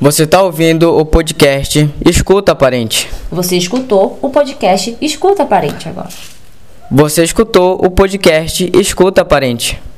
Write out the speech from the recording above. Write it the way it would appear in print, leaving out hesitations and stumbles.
Você está ouvindo o podcast Escuta Parente. Você escutou o podcast Escuta Parente agora. Você escutou o podcast Escuta Parente.